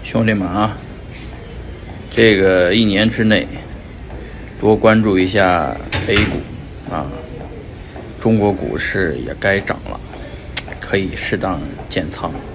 兄弟们啊，这个一年之内多关注一下 A 股啊，中国股市也该涨了，可以适当减仓。